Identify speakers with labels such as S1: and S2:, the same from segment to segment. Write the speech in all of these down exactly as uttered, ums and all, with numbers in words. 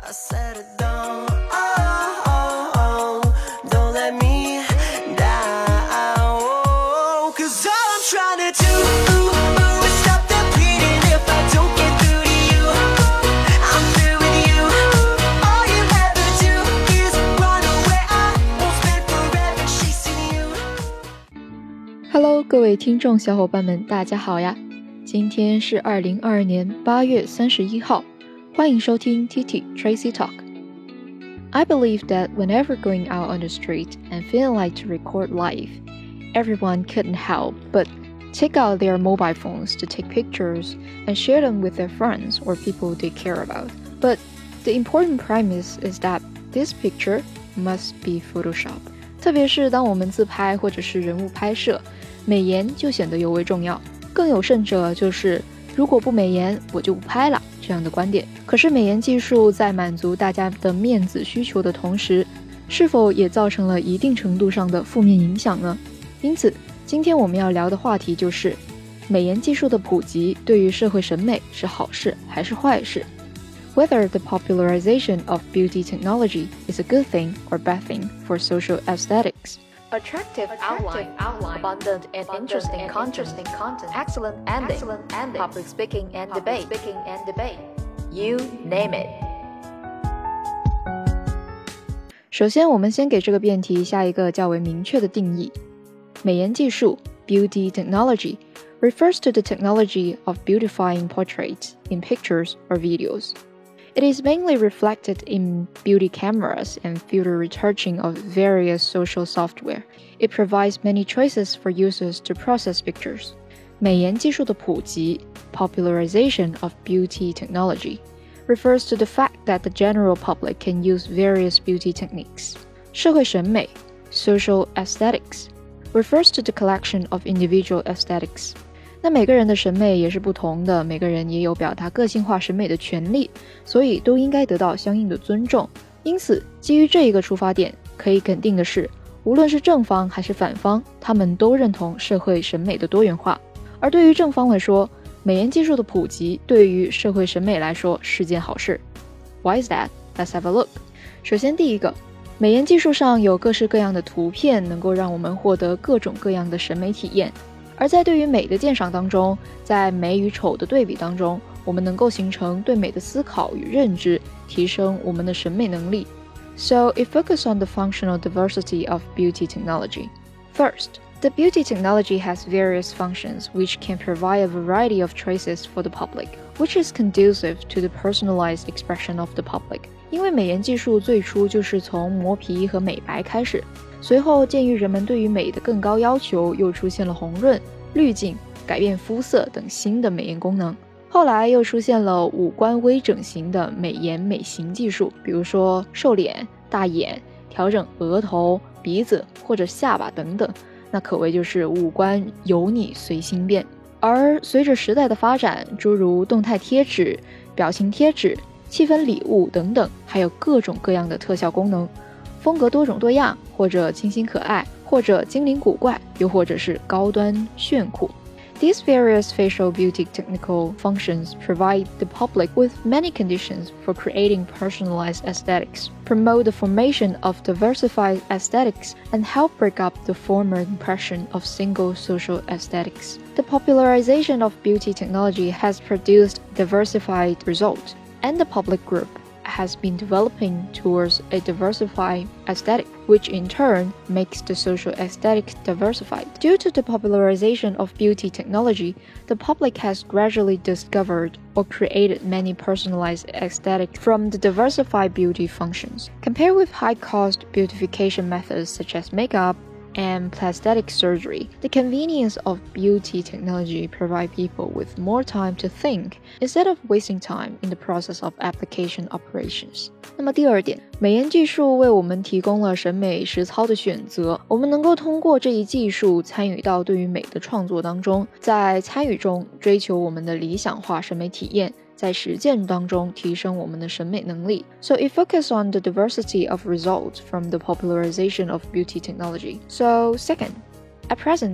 S1: I said it don't, oh, oh, oh, don't let me down, oh, cause all I'm trying to do is stop the bleeding if I don't get through to you. I'm through with you. All you ever do is run away. I won't spend forever chasing you.
S2: Hello， 各位听众小伙伴们，大家好呀！今天是二零二二年八月三十一号，欢迎收听 T T Tracy Talk。I believe that whenever going out on the street and feeling like to record live, everyone couldn't help but take out their mobile phones to take pictures and share them with their friends or people they care about. But the important premise is that this picture must be Photoshop. 特别是当我们自拍或者是人物拍摄，美颜就显得尤为重要。更有甚者就是如果不美颜我就不拍了这样的观点。可是美颜技术在满足大家的面子需求的同时，是否也造成了一定程度上的负面影响呢？因此今天我们要聊的话题就是美颜技术的普及对于社会审美是好事还是坏事， Whether the popularization of beauty technology is a good thing or bad thing for social aesthetics.Attractive,
S3: Attractive
S2: outline,
S3: outline,
S2: abundant and
S3: abundant
S2: interesting,
S3: and
S2: content,
S3: interesting content,
S2: excellent ending,
S3: excellent ending,
S2: public speaking and
S3: public
S2: debate,
S3: speaking and debate.
S2: you name it. 首先，我们先给这个辩题下一个较为明确的定义。美颜技术 beauty technology refers to the technology of beautifying portraits in pictures or videos.It is mainly reflected in beauty cameras and filter retouching of various social software. It provides many choices for users to process pictures. 美颜技术的普及 popularization of beauty technology refers to the fact that the general public can use various beauty techniques. 社会审美 social aesthetics refers to the collection of individual aesthetics.那每个人的审美也是不同的，每个人也有表达个性化审美的权利，所以都应该得到相应的尊重。因此，基于这一个出发点，可以肯定的是，无论是正方还是反方，他们都认同社会审美的多元化。而对于正方来说，美颜技术的普及对于社会审美来说是件好事。Why is that? Let's have a look. 首先，第一个，美颜技术上有各式各样的图片，能够让我们获得各种各样的审美体验。而在对于美的鉴赏当中，在美与丑的对比当中，我们能够形成对美的思考与认知，提升我们的审美能力。So it focuses on the functional diversity of beauty technology. First, the beauty technology has various functions which can provide a variety of choices for the public, which is conducive to the personalized expression of the public. 因为美颜技术最初就是从磨皮和美白开始，随后鉴于人们对于美的更高要求，又出现了红润、滤镜、改变肤色等新的美颜功能。后来又出现了五官微整形的美颜美型技术，比如说瘦脸、大眼、调整额头、鼻子或者下巴等等，那可谓就是五官由你随心变。而随着时代的发展，诸如动态贴纸、表情贴纸、气氛礼物等等，还有各种各样的特效功能，风格多种多样，或者清新可爱，或者精灵古怪，又或者是高端炫酷。These various facial beauty technical functions provide the public with many conditions for creating personalized aesthetics, promote the formation of diversified aesthetics, and help break up the former impression of single social aesthetics. The popularization of beauty technology has produced diversified results, and the public group has been developing towards a diversified aesthetic, which in turn makes the social aesthetic diversified. Due to the popularization of beauty technology, the public has gradually discovered or created many personalized aesthetics from the diversified beauty functions. Compared with high-cost beautification methods such as makeup and plastic surgery, the convenience of beauty technology provide people with more time to think instead of wasting time in the process of application operations. 那么第二点，美颜技术为我们提供了审美实操的选择，我们能够通过这一技术参与到对于美的创作当中，在参与中追求我们的理想化审美体验，在实践当中提升我们的审美能力。So it focuses on the diversity of results from the popularization of beauty technology. So second, at present,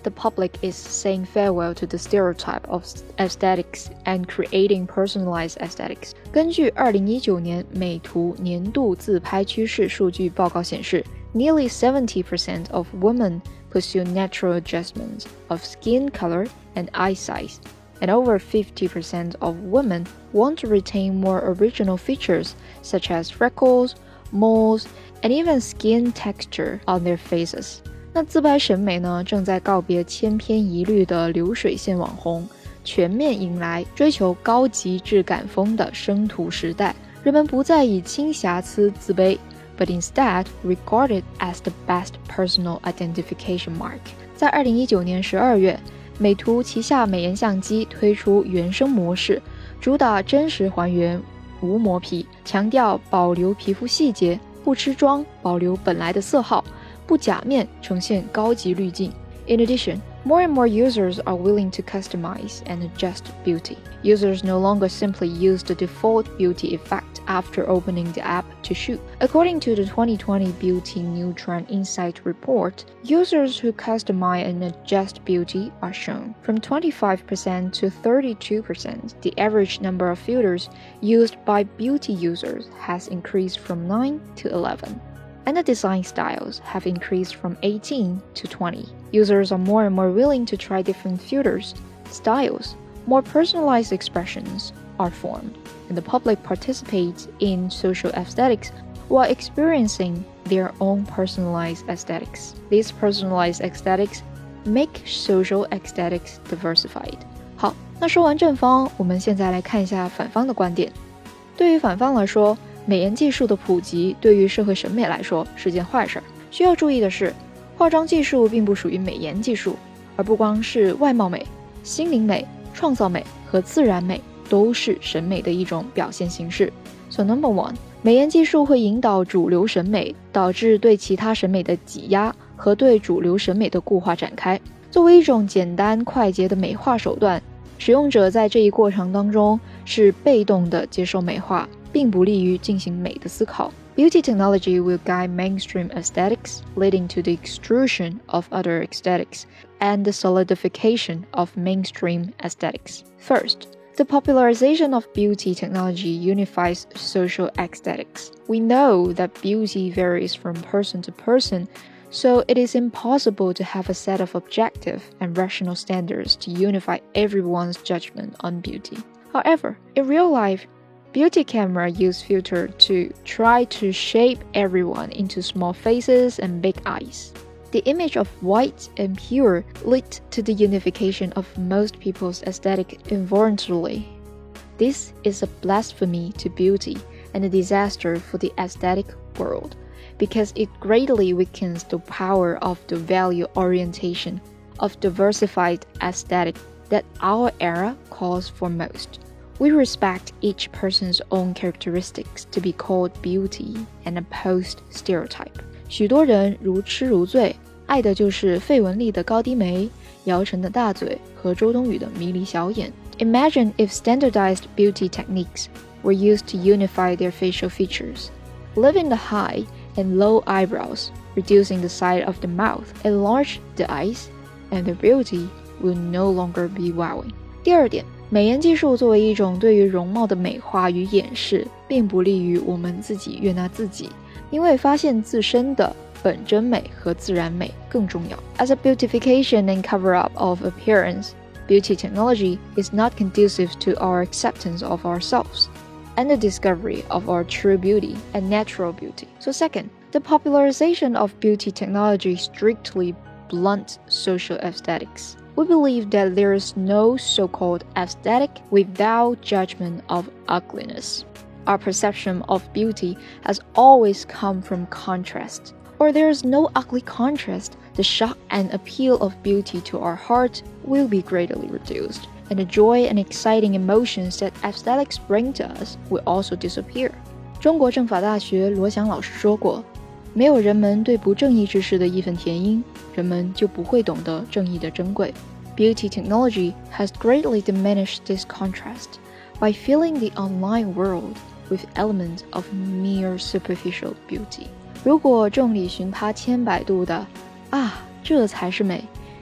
S2: the public is saying farewell to the stereotype of aesthetics and creating personalized aesthetics. 根据二零一九年美图年度自拍趋势数据报告显示， nearly seventy percent of women pursue natural adjustments of skin color and eye size, and over fifty percent of women want to retain more original features such as freckles, moles, and even skin texture on their faces. 那自拍审美呢，正在告别千篇一律的流水线网红，全面迎来追求高级质感风的生图时代。人们不再以轻瑕疵自卑， but instead regard it as the best personal identification mark. 在二零一九年十二月，美图旗下美颜相机推出原生模式，主打真实还原，无磨皮，强调保留皮肤细节，不吃妆，保留本来的色号，不假面，呈现高级滤镜。In addition, more and more users are willing to customize and adjust beauty. Users no longer simply use the default beauty effect after opening the app to shoot. According to the twenty twenty Beauty New Trend Insight report, users who customize and adjust beauty are shown from twenty-five percent to thirty-two percent. The average number of filters used by beauty users has increased from nine to eleven.And the design styles have increased from eighteen to twenty. Users are more and more willing to try different filters, styles, more personalized expressions are formed, and the public participates in social aesthetics while experiencing their own personalized aesthetics. These personalized aesthetics make social aesthetics diversified. 好，那说完正方，我们现在来看一下反方的观点。对于反方来说，美颜技术的普及对于社会审美来说是件坏事。需要注意的是，化妆技术并不属于美颜技术，而不光是外貌美，心灵美、创造美和自然美都是审美的一种表现形式。So number one， 美颜技术会引导主流审美，导致对其他审美的挤压和对主流审美的固化展开。作为一种简单快捷的美化手段，使用者在这一过程当中是被动的接受美化，并不利于进行美的思考。Beauty technology will guide mainstream aesthetics, leading to the extrusion of other aesthetics and the solidification of mainstream aesthetics. First, the popularization of beauty technology unifies social aesthetics. We know that beauty varies from person to person, so it is impossible to have a set of objective and rational standards to unify everyone's judgment on beauty. However, in real life, beauty camera use filter to try to shape everyone into small faces and big eyes. The image of white and pure led to the unification of most people's aesthetic involuntarily. This is a blasphemy to beauty and a disaster for the aesthetic world, because it greatly weakens the power of the value orientation of diversified aesthetic that our era calls for most.We respect each person's own characteristics to be called beauty and opposed stereotype. 许多人如痴如醉，爱的就是费雯丽的高低眉、姚晨的大嘴和周冬雨的迷离小眼。Imagine if standardized beauty techniques were used to unify their facial features, leaving the high and low eyebrows, reducing the size of the mouth, enlarge the eyes, and the beauty will no longer be wowing. 第二点，美颜技术作为一种对于容貌的美化与掩饰，并不利于我们自己悦纳自己，因为发现自身的本真美和自然美更重要。As a beautification and cover-up of appearance, beauty technology is not conducive to our acceptance of ourselves and the discovery of our true beauty and natural beauty. So second, the popularization of beauty technology strictly blunts social aesthetics.We believe that there is no so-called aesthetic without judgment of ugliness. Our perception of beauty has always come from contrast. Or there is no ugly contrast, the shock and appeal of beauty to our heart will be greatly reduced, and the joy and exciting emotions that aesthetics bring to us will also disappear. 中国政法大学罗翔老师说过，没有人们对不正义之事的义愤填膺，人们就不会懂得正义的珍贵。Beauty technology has greatly diminished this contrast by filling the online world with elements of mere superficial beauty. 如果众里寻他千百度的啊，这才是美，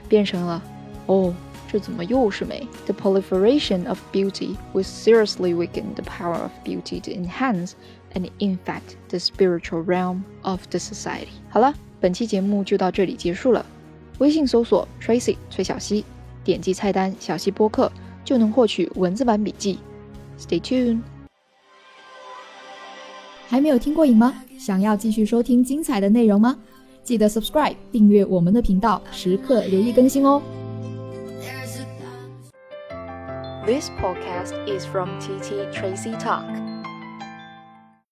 S2: 变成了哦，这怎么又是美？ The proliferation of beauty will seriously weaken the power of beauty to enhance and infect the spiritual realm of the society. 好了，本期节目就到这里结束了。微信搜索 Tracy 崔小溪，点击菜单小溪播客就能获取文字版笔记。Stay tuned。
S3: 还没有听过瘾吗？想要继续收听精彩的内容吗？记得 subscribe 订阅我们的频道，时刻留意更新哦。
S2: This podcast is from T T Tracy Talk.